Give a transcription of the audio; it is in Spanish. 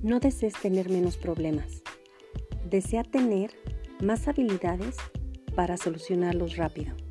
No desees tener menos problemas. Desea tener más habilidades para solucionarlos rápido.